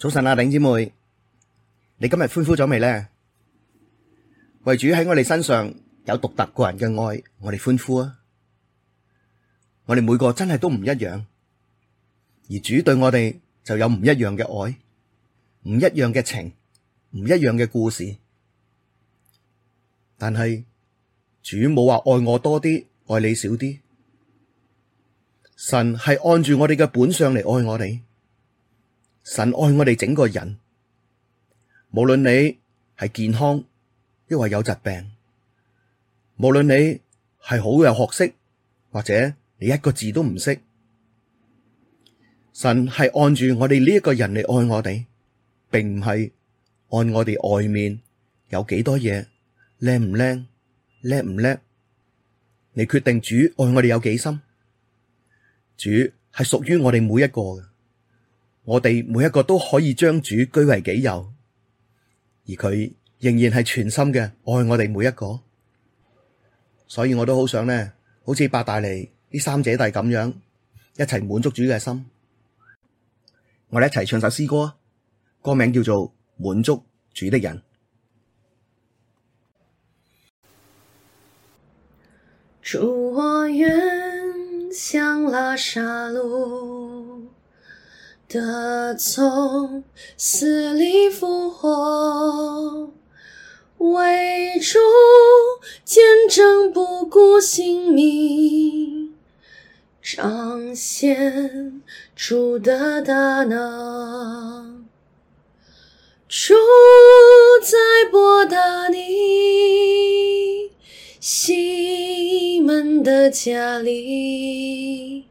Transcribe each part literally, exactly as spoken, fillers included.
早晨啊，弟兄姊妹，你今日歡呼咗未呢？為主喺我哋身上有獨特個人嘅愛，我哋歡呼啊！我哋每個真係都唔一樣，而主對我哋就有唔一樣嘅愛，唔一樣嘅情，唔一樣嘅故事。但係主冇話愛我多啲，愛你少啲。神係按住我哋嘅本相嚟愛我哋。神愛我哋整個人，無論你係健康抑或有疾病，無論你係好有學識或者你一個字都唔識，神係按住我哋呢一個人嚟愛我哋，並唔係按我哋外面有幾多嘢，靚唔靚，叻唔叻，你決定主愛我哋有幾深。主係屬於我哋每一個嘅。我哋每一個都可以將主居為己有，而佢仍然係全心嘅愛我哋每一個，所以我都好想呢，好似伯大尼呢三姐弟咁樣，一齊滿足主嘅心。我哋一齊唱首詩歌，歌名叫做《滿足主的人》。 主，我願像拉撒路，得從死裡復活，為主見證不顧性命，彰顯主的大能。主在伯大尼西門的家裡，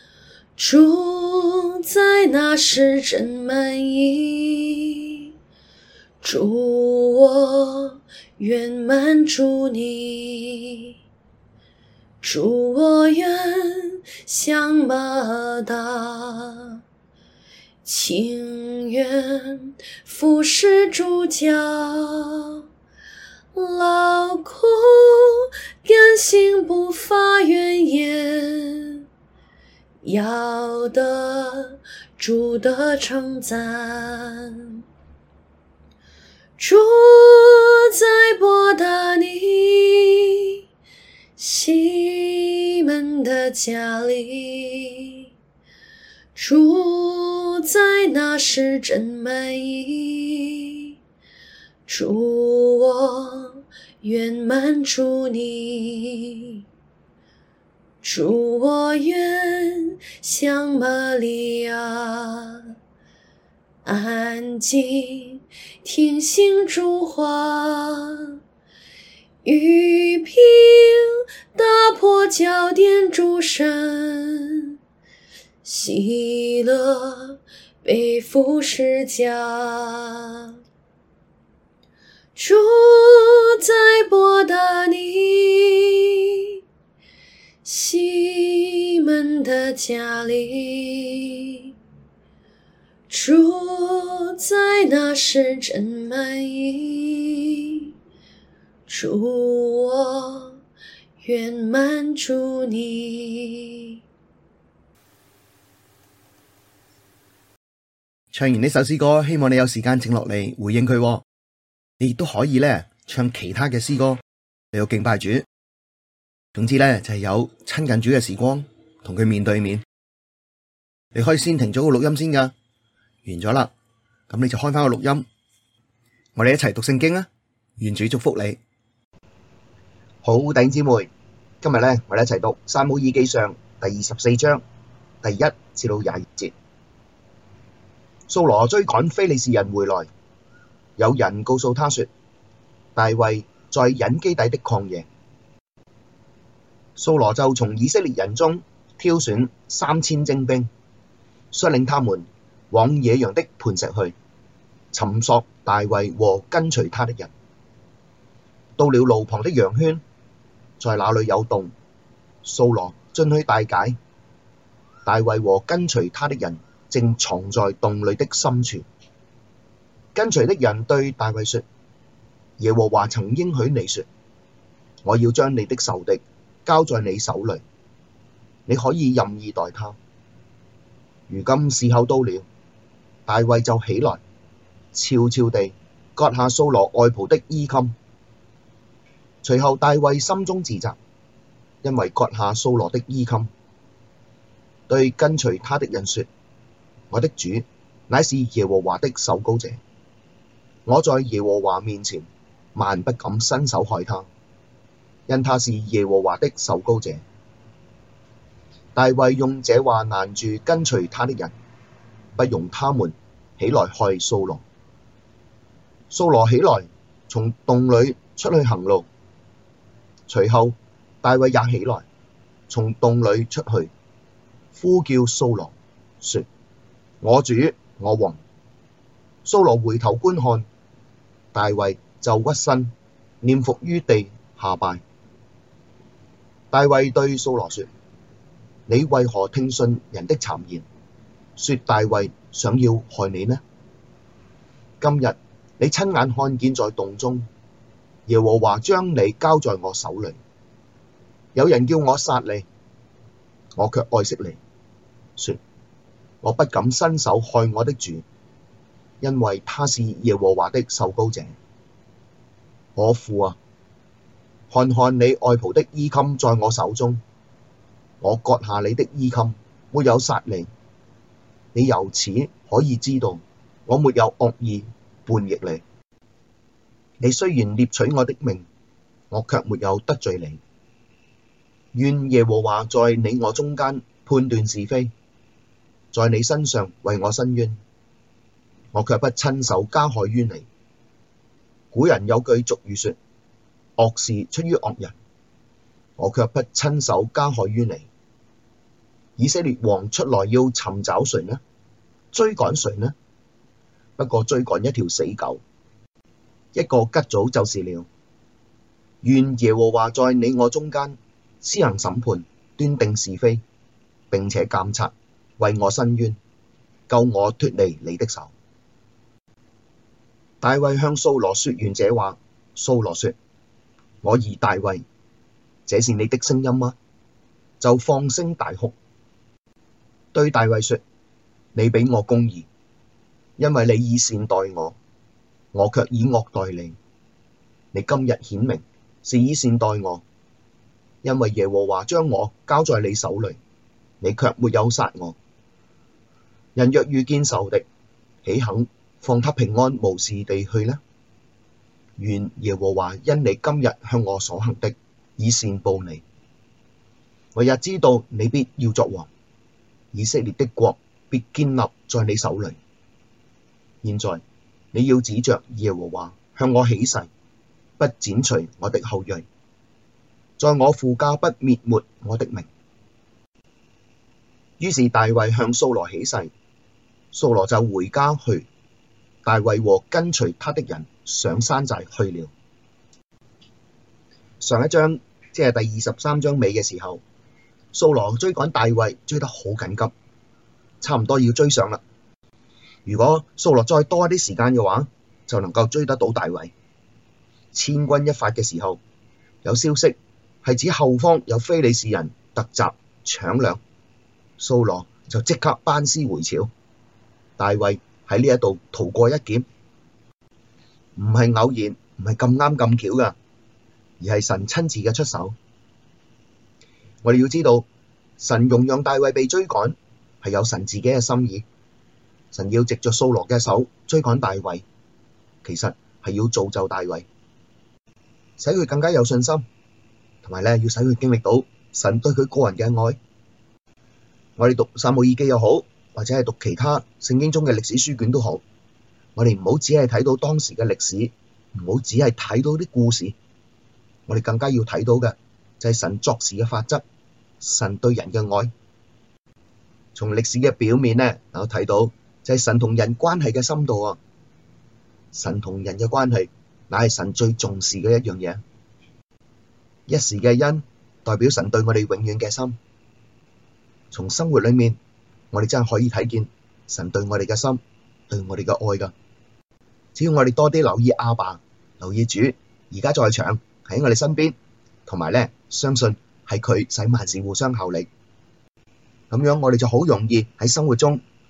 主在那時真滿意。主，我願滿足你。主，我願像馬大，情願服侍主腳，勞苦甘心不發怨言，要得主的稱讚。主在伯大尼西門的家裡，主在那時真滿意。主，我願滿足你。主，我願像瑪利亞，安靜聽信主話，玉瓶打破澆奠主身，喜樂背負十架。主在伯大尼西門的家裡，主在那時真滿意。主，我願滿足你。 唱完呢首詩歌，希望你有時間靜落嚟回應佢。你亦都可以咧唱其他嘅詩歌嚟到敬拜主。總之咧就係有親近主嘅時光，同佢面對面。你可以先停咗個錄音先噶，完咗啦，咁你就開翻個錄音，我哋一齊讀聖經啊！願主祝福你。好，弟兄姊妹，今日咧我哋一齊讀撒母耳記上第二十四章第一至到廿二節。掃羅追趕非利士人回來，有人告訴他說，大衛在隱基底的曠野。掃羅就從以色列人中挑選三千精兵，率領他們往野羊的磐石去，尋索大衛和跟隨他的人。到了路旁的羊圈，在那裡有洞，掃羅進去大解，大衛和跟隨他的人正藏在洞裡的深處。跟隨的人對大衛說，耶和華曾應許你說，我要將你的仇敵交在你手裡，你可以任意待他。如今時候到了， 大衛就起來，悄悄地割下掃羅外袍的衣襟。隨後大衛心中自責，因為割下掃羅的衣襟，對跟隨他的人說：我的主乃是耶和華的受膏者，我在耶和華面前萬不敢伸手害他，因他是耶和華的受膏者。大衛用這話攔住跟隨他的人，不容他們起來害掃羅。掃羅起來，從洞裡出去行路，隨後大衛也起來，從洞裡出去，呼叫掃羅，說：我主，我王。掃羅回頭觀看，大衛就屈身，臉伏於地下拜。大衛對掃羅說：你為何聽信人的讒言，說大衛想要害你呢？今日你親眼看見在洞中，耶和華將你交在我手裡。有人叫我殺你，我卻愛惜你，說：我不敢伸手害我的主，因為他是耶和華的受膏者。我父啊，看看你外袍的衣襟在我手中，我割下你的衣襟，沒有殺你。你由此可以知道，我沒有惡意叛逆你。你雖然獵取我的命，我卻沒有得罪你。願耶和華在你我中間判斷是非，在你身上為我伸冤，我卻不親手加害於你。古人有句俗語說：惡事出於惡人，我卻不親手加害於你。以色列王出來要尋找誰呢？追趕誰呢？不過追趕一條死狗，一個虼蚤就是了。願耶和華在你我中間施行審判，斷定是非，並且監察，為我伸冤，救我脫離你的手。大衛向掃羅說完這話，掃羅說：我兒大衛，這是你的聲音嗎？就放聲大哭，對大衛說：你比我公義，因為你以善待我，我卻以惡待你。你今日顯明是以善待我，因為耶和華將我交在你手裡，你卻沒有殺我。人若遇見仇敵，豈肯放他平安無事地去呢？願耶和華因你今日向我所行的，以善報你。我也知道你必要作王，以色列的國必堅立在你手裡。現在你要指着耶和華向我起誓，不剪除我的後裔，在我父家不滅沒我的名。於是大衛向掃羅起誓，掃羅就回家去。大衛和跟隨他的人上山寨去了。上一章即係第二十三章尾嘅時候，掃羅追趕大衛追得好緊急，差唔多要追上啦。如果掃羅再多一啲時間嘅話，就能夠追得到大衛。千鈞一髮嘅時候，有消息係指後方有非利士人突襲搶掠，掃羅就即刻班師回朝。大衛喺呢一度逃過一劫，唔係偶然，唔係咁啱咁巧噶，而係神親自嘅出手。我哋要知道，神容讓大衛被追趕，係有神自己嘅心意。神要藉着掃羅嘅手追趕大衛，其實係要造就大衛，使佢更加有信心，同埋咧要使佢經歷到神對佢個人嘅愛。我哋讀撒母耳記又好，或者係讀其他聖經中嘅歷史書卷都好，我哋唔好只係睇到當時嘅歷史，唔好只係睇到啲故事，我哋更加要睇到嘅就係神作事嘅法則，神對人嘅愛。從歷史嘅表面咧，能夠睇到就係神同人關係嘅深度啊！神同人嘅關係，乃係神最重視嘅一樣嘢。一時嘅恩，代表神對我哋永遠嘅心。從生活裏面，我哋真係可以睇見神對我哋嘅心，對我哋嘅愛㗎。只要我哋多啲留意阿爸，留意主，而家在場喺我哋身邊，同埋咧相信係佢使萬事互相效力，咁樣我哋就好容易喺生活中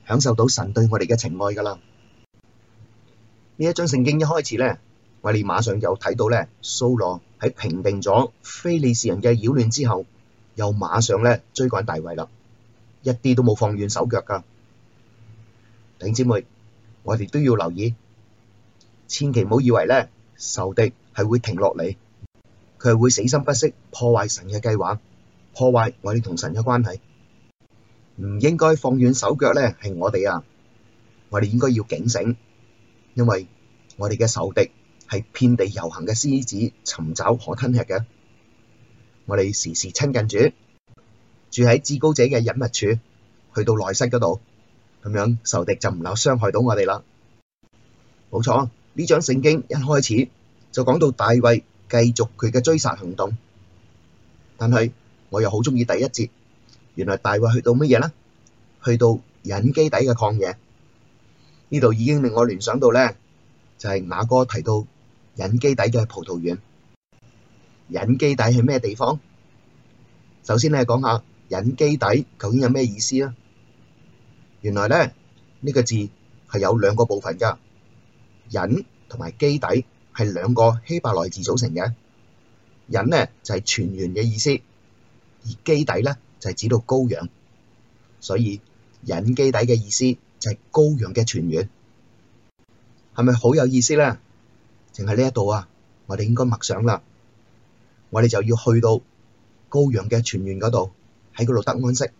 享受到神對我哋嘅情愛噶啦。呢一章聖經一開始咧，我哋馬上又睇到咧，掃羅喺平定咗非利士人嘅擾亂之後，又馬上咧追趕大衛啦，一啲都冇放軟手腳噶。弟兄姊妹，我哋都要留意，千祈唔好以為咧仇敵係會停落嚟，佢係會死心不息破壞神嘅計劃，破壞我哋同神嘅關係。唔應該放軟手腳咧，係我哋啊，我哋應該要警醒，因為我哋嘅仇敵係遍地遊行嘅獅子，尋找可吞吃嘅。我哋時時親近主，住喺至高者嘅隱密處，去到內室嗰度，咁樣仇敵就唔能夠傷害到我哋啦。冇錯，呢章聖經一開始就講到大衛繼續佢嘅追殺行動，但係我又好鍾意第一節。原來大衛去到乜嘢呢？去到隱基底嘅曠野，呢度已經令我聯想到咧，就係雅歌提到隱基底嘅葡萄園。隱基底係咩地方？首先咧講下隱基底究竟有咩意思啊？原來咧呢個字係有兩個部分噶，隱同埋基底係兩個希伯來字組成嘅。隱咧就係泉源嘅意思，而基底咧就係指到羔羊，所以隱基底嘅意思就係羔羊嘅泉源，係咪好有意思咧？淨係呢一度啊，我哋應該默想啦，我哋就要去到羔羊嘅泉源嗰度，喺嗰度得安息。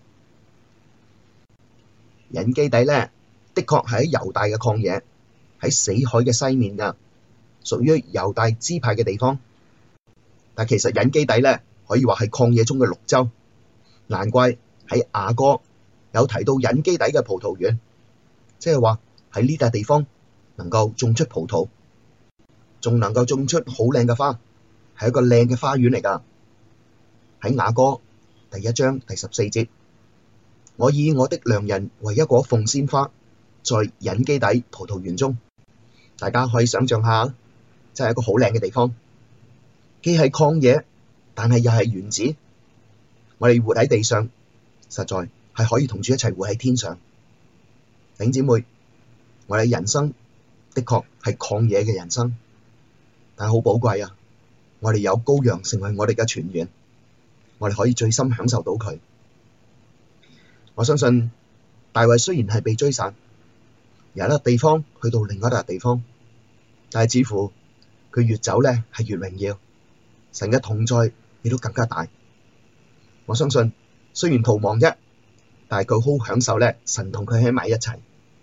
隱基底咧，的確係喺猶大嘅曠野，喺死海嘅西面噶，屬於猶大支派嘅地方。但其實隱基底咧，可以話係曠野中嘅綠洲。難怪喺雅歌有提到隱基底嘅葡萄園，即係話喺呢笪地方能夠種出葡萄，仲能夠種出好靚嘅花，係一個靚嘅花園嚟噶。喺雅歌第一章第十四節，我以我的良人為一棵鳳仙花，在隱基底葡萄園中。大家可以想象下，真係一個好靚嘅地方，既係曠野，但係又係園子。我哋活喺地上，實在係可以同主一齊活喺天上。弟兄姊妹，我哋人生的確係曠野嘅人生，但係好寶貴啊！我哋有羔羊成為我哋嘅泉源，我哋可以最深享受到佢。我相信大衛雖然係被追殺，由一笪地方去到另一笪地方，但係似乎佢越走咧係越榮耀，神嘅同在亦都更加大。我相信雖然逃亡啫，但係佢好享受咧，神同佢喺埋一齊。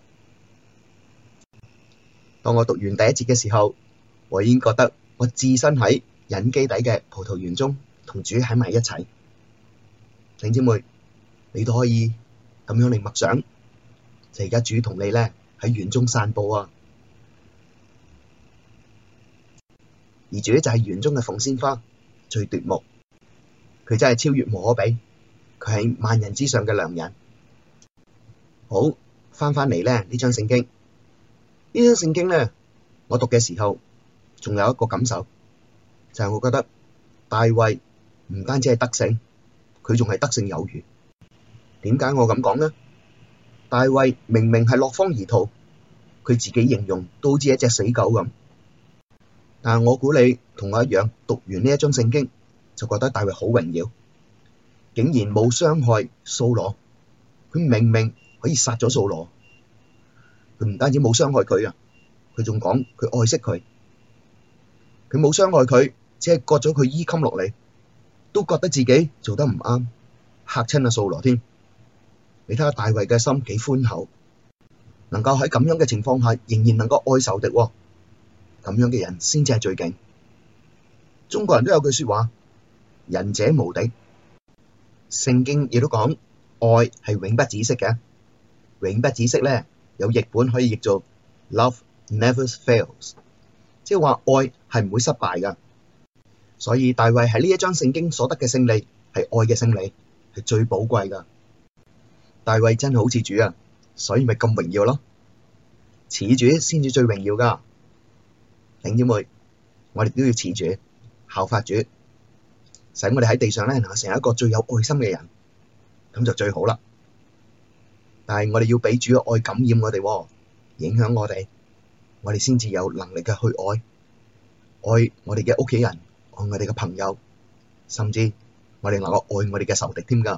當我讀完第一節嘅時候，我已經覺得我置身喺隱基底嘅葡萄園中，同主喺埋一齊。弟兄姊妹，你都可以咁樣嚟默想，就而家主同你咧喺園中散步啊，而主就係園中嘅鳳仙花，最奪目。佢真係超越無可比，佢係萬人之上嘅良人。好，翻返嚟咧呢章聖經，呢章聖經咧，我讀嘅時候仲有一個感受，就係我覺得大衛唔單止係得勝，佢仲係得勝有餘。點解我咁講呢？大衛明明係落荒而逃，佢自己形容都好似一隻死狗咁。但係我估你同我一樣，讀完呢一章聖經，就覺得大衛好榮耀，竟然冇傷害掃羅。佢明明可以殺咗掃羅，佢唔單止冇傷害佢啊，佢仲講佢愛惜佢。佢冇傷害佢，只係割咗佢衣襟落嚟，都覺得自己做得唔啱，嚇親阿掃羅添。你睇下大衛嘅心幾寬厚，能夠喺咁樣嘅情況下，仍然能夠愛仇敵，咁樣嘅人先至係最勁。中國人都有句說話，仁者無敵。聖經亦都講，愛係永不止息嘅。永不止息咧，有譯本可以譯做 Love never fails， 即係話愛係唔會失敗噶。所以大衛喺呢一章聖經所得嘅勝利係愛嘅勝利，係最寶貴噶。大衛真係好似主啊，所以咪咁榮耀咯。似主先至最榮耀噶。弟兄姊妹，我哋都要似主，效法主，使我哋喺地上咧能夠成為一個最有愛心嘅人，咁就最好啦。 但係我哋要俾主嘅愛感染我哋喎，影響我哋，我哋先至有能力嘅去愛，愛我哋嘅屋企人，愛我哋嘅朋友，甚至我哋能夠愛我哋嘅仇敵添㗎。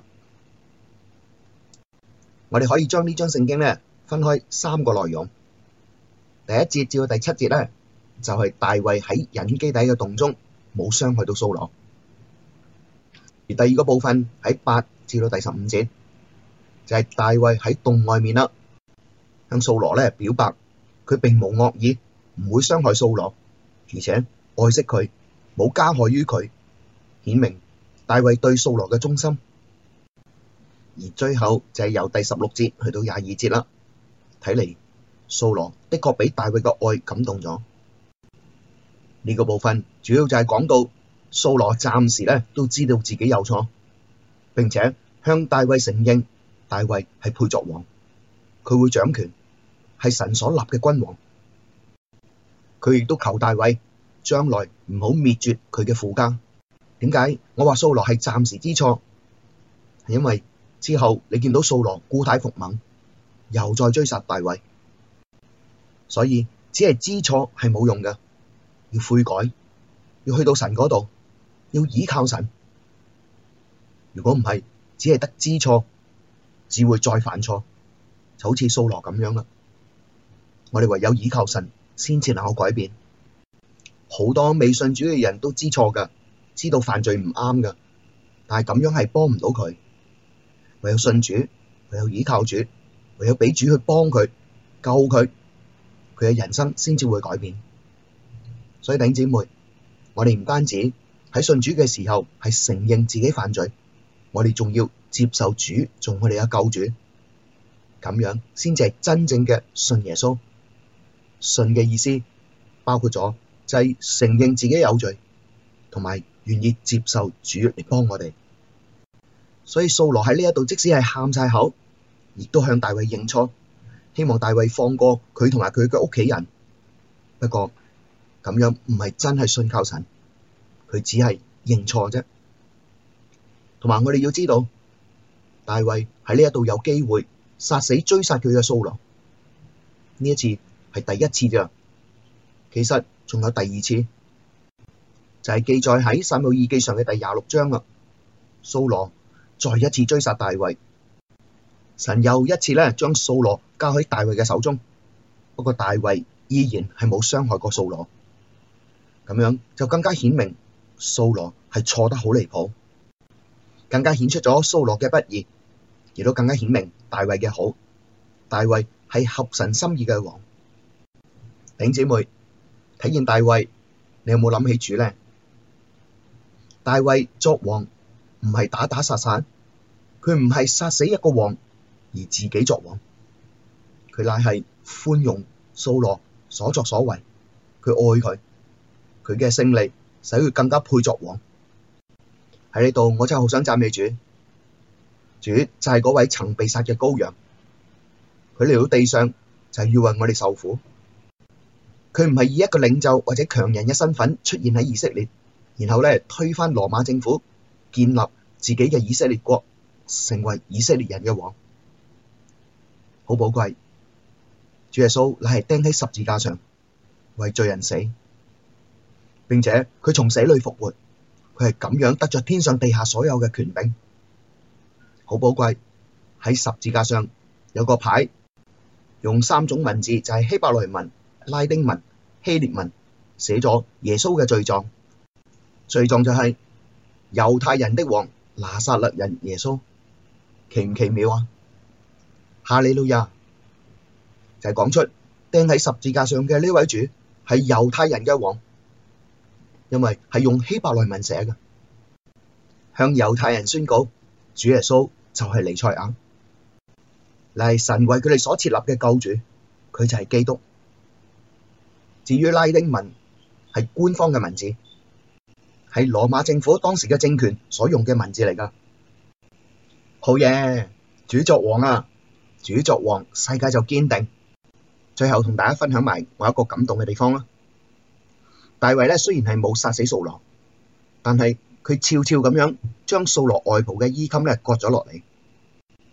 我哋可以將呢章聖經咧分開三個內容，第一節至到第七節咧就係大衛喺隱基底嘅洞中冇傷害到掃羅，而第二個部分喺八至到第十五節就係大衛喺洞外面啦，向掃羅咧表白佢並無惡意，唔會傷害掃羅，而且愛惜佢，冇加害於佢，顯明大衛對掃羅嘅忠心。而最後就係由第十六節去到廿二節啦，睇嚟掃羅的確俾大衛嘅愛感動咗。呢個部分主要就係講到掃羅暫時咧都知道自己有錯，並且向大衛承認大衛係配作王，佢會掌權，係神所立嘅君王。佢亦都求大衛將來唔好滅絕佢嘅父家。點解我話掃羅係暫時知錯？係因為之後你見到掃羅故態復萌，又再追殺大衛，所以只係知錯係冇用嘅，要悔改，要去到神嗰度，要倚靠神。如果唔係，只係得知錯，只會再犯錯，就好似掃羅咁樣啦。我哋唯有倚靠神，先至能夠改變。好多未信主嘅人都知錯噶，知道犯罪唔啱噶，但係咁樣係幫唔到佢。唯有信主，唯有倚靠主，唯有俾主去幫佢救佢，佢嘅人生先至會改變。所以弟兄姊妹，我哋唔單止喺信主嘅時候係承認自己犯罪，我哋仲要接受主做我哋嘅救主，咁樣先至係真正嘅信耶穌。信嘅意思包括咗就係承認自己有罪，同埋願意接受主嚟幫我哋。所以掃羅喺呢一度即使係喊晒口，亦都向大衛認錯，希望大衛放過佢同埋佢嘅屋企人。不過咁樣唔係真係信靠神，佢只係認錯啫。同埋我哋要知道，大衛喺呢一度有機會殺死追殺佢嘅掃羅，呢一次係第一次咋，其實仲有第二次，就係、是、記載喺撒母耳記上嘅第廿六章啦。掃羅再一次追殺大衛，神又一次咧將掃羅交喺大衛嘅手中，不過大衛依然係冇傷害過掃羅，咁樣就更加顯明掃羅係錯得好離譜，更加顯出咗掃羅嘅不義，亦都更加顯明大衛嘅好。大衛係合神心意嘅王。弟兄姊妹，睇見大衛，你有冇諗起主咧？大衛作王唔係打打殺殺，佢唔係殺死一個王而自己作王，佢乃係寬容掃羅所作所為，佢愛佢，佢嘅勝利使佢更加配作王。喺呢度我真係好想讚美主，主就係嗰位曾被殺嘅羔羊，佢嚟到地上就係要為我哋受苦。佢唔係以一個領袖或者強人嘅身份出現喺以色列，然後咧推翻羅馬政府，建立自己嘅以色列國，成為以色列人嘅王，好寶貴。主耶穌乃係釘喺十字架上為罪人死，並且佢從死裡復活，佢係咁樣得着天上地下所有嘅權柄，好寶貴。喺十字架上有個牌，用三種文字，就係希伯來文、拉丁文、希臘文，寫咗耶穌嘅罪狀。罪狀就係猶太人的王，拿撒勒人耶穌，奇唔奇妙啊？哈利路亞，就係講出釘喺十字架上嘅呢位主係猶太人嘅王，因為係用希伯來文寫嘅，向猶太人宣告主耶穌就係彌賽亞，乃係神為佢哋所設立嘅救主，佢就係基督。至於拉丁文係官方嘅文字，係羅馬政府當時嘅政權所用嘅文字嚟㗎。好嘢，主作王啊！主作王，世界就堅定。最後同大家分享埋我一個感動嘅地方啦。大衛咧雖然係冇殺死掃羅，但係佢悄悄咁樣將掃羅外袍嘅衣襟咧割咗落嚟，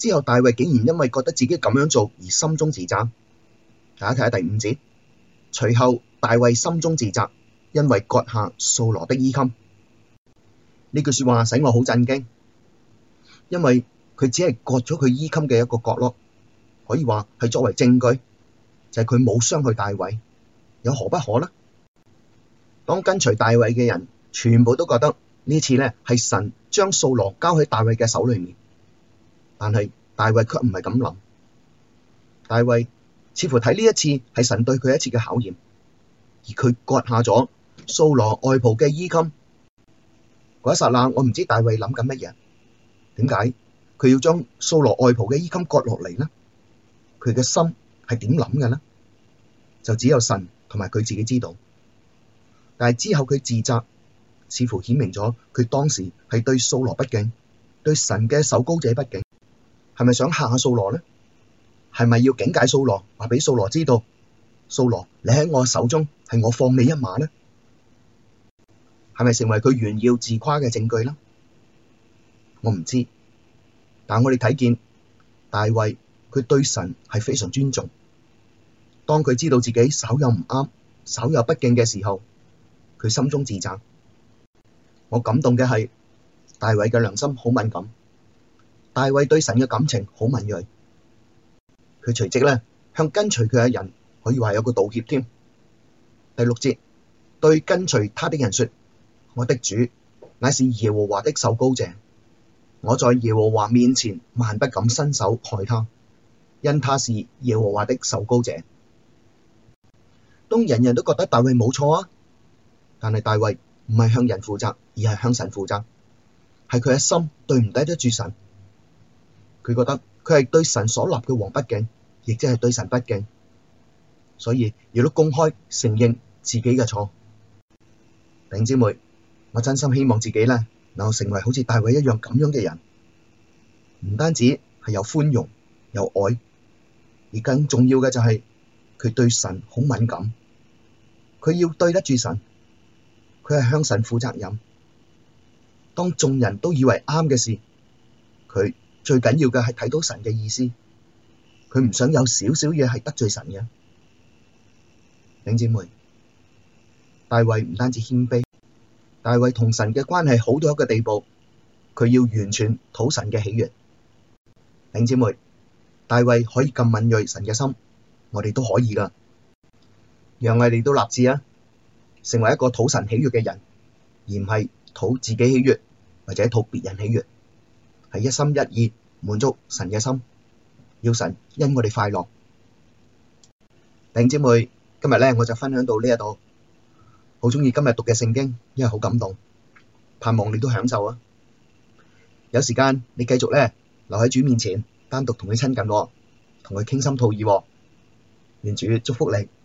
之後大衛竟然因為覺得自己咁樣做而心中自責。大家睇下第五節，隨後大衛心中自責，因為割下掃羅的衣襟。呢句說話使我好震驚，因為佢只係割咗佢衣襟嘅一個角落，可以話係作為證據，就係佢冇傷害大衛，有何不可呢？當跟隨大衛嘅人全部都覺得呢次呢係神將掃羅交喺大衛嘅手裏面，但係大衛卻唔係咁諗。大衛似乎睇呢一次係神對佢一次嘅考驗，而佢割下咗掃羅外袍嘅衣襟。嗰一剎那，我唔知大衛諗緊乜嘢，點解佢要將掃羅外袍嘅衣襟割落嚟呢？佢嘅心係點諗嘅呢？就只有神同埋佢自己知道。但係之後佢自責，似乎顯明咗佢當時係對掃羅不敬，對神嘅受膏者不敬。係咪想嚇下掃羅呢？係咪要警戒掃羅，話俾掃羅知道，掃羅你喺我手中，係我放你一馬呢？係咪成為佢炫耀自誇嘅證據呢？我唔知，但我哋睇見大衛佢對神係非常尊重。當佢知道自己稍有唔啱、稍有不敬嘅時候，佢心中自責。我感動嘅係大衛嘅良心好敏感，大衛對神嘅感情好敏銳。佢隨即咧向跟隨佢嘅人可以話有個道歉添。第六節，對跟隨他的人說：我的主乃是耶和華的受膏者，我在耶和華面前萬不敢伸手害他，因他是耶和華的受膏者。當人人都覺得大衛冇錯啊，但係大衛唔係向人負責，而係向神負責，係佢嘅心對唔抵得住神。佢覺得佢係對神所立嘅王不敬，亦即係對神不敬，所以亦都公開承認自己嘅錯。弟兄姊妹，我真心希望自己咧能夠成為好似大衛一樣咁樣嘅人，唔單止係有寬容有愛，而更重要嘅就係佢對神好敏感，佢要對得住神，佢係向神負責任。當眾人都以為啱嘅事，佢最緊要嘅係睇到神嘅意思，佢唔想有少少嘢係得罪神嘅。弟兄姊妹，大衛唔單止謙卑，大衛同神嘅關係好到一個地步，佢要完全討神嘅喜悅。弟兄姊妹，大衛可以咁敏銳神嘅心，我哋都可以噶。讓我哋都立志啊，成為一個討神喜悅嘅人，而唔係討自己喜悅或者討別人喜悅，係一心一意滿足神嘅心，要神因我哋快樂。弟兄姊妹，今日咧我就分享到呢一度，好鍾意今日讀嘅聖經，因為好感動，盼望你都享受啊！有時間你繼續咧留喺主面前，單獨同佢親近，同佢傾心吐意，願主祝福你。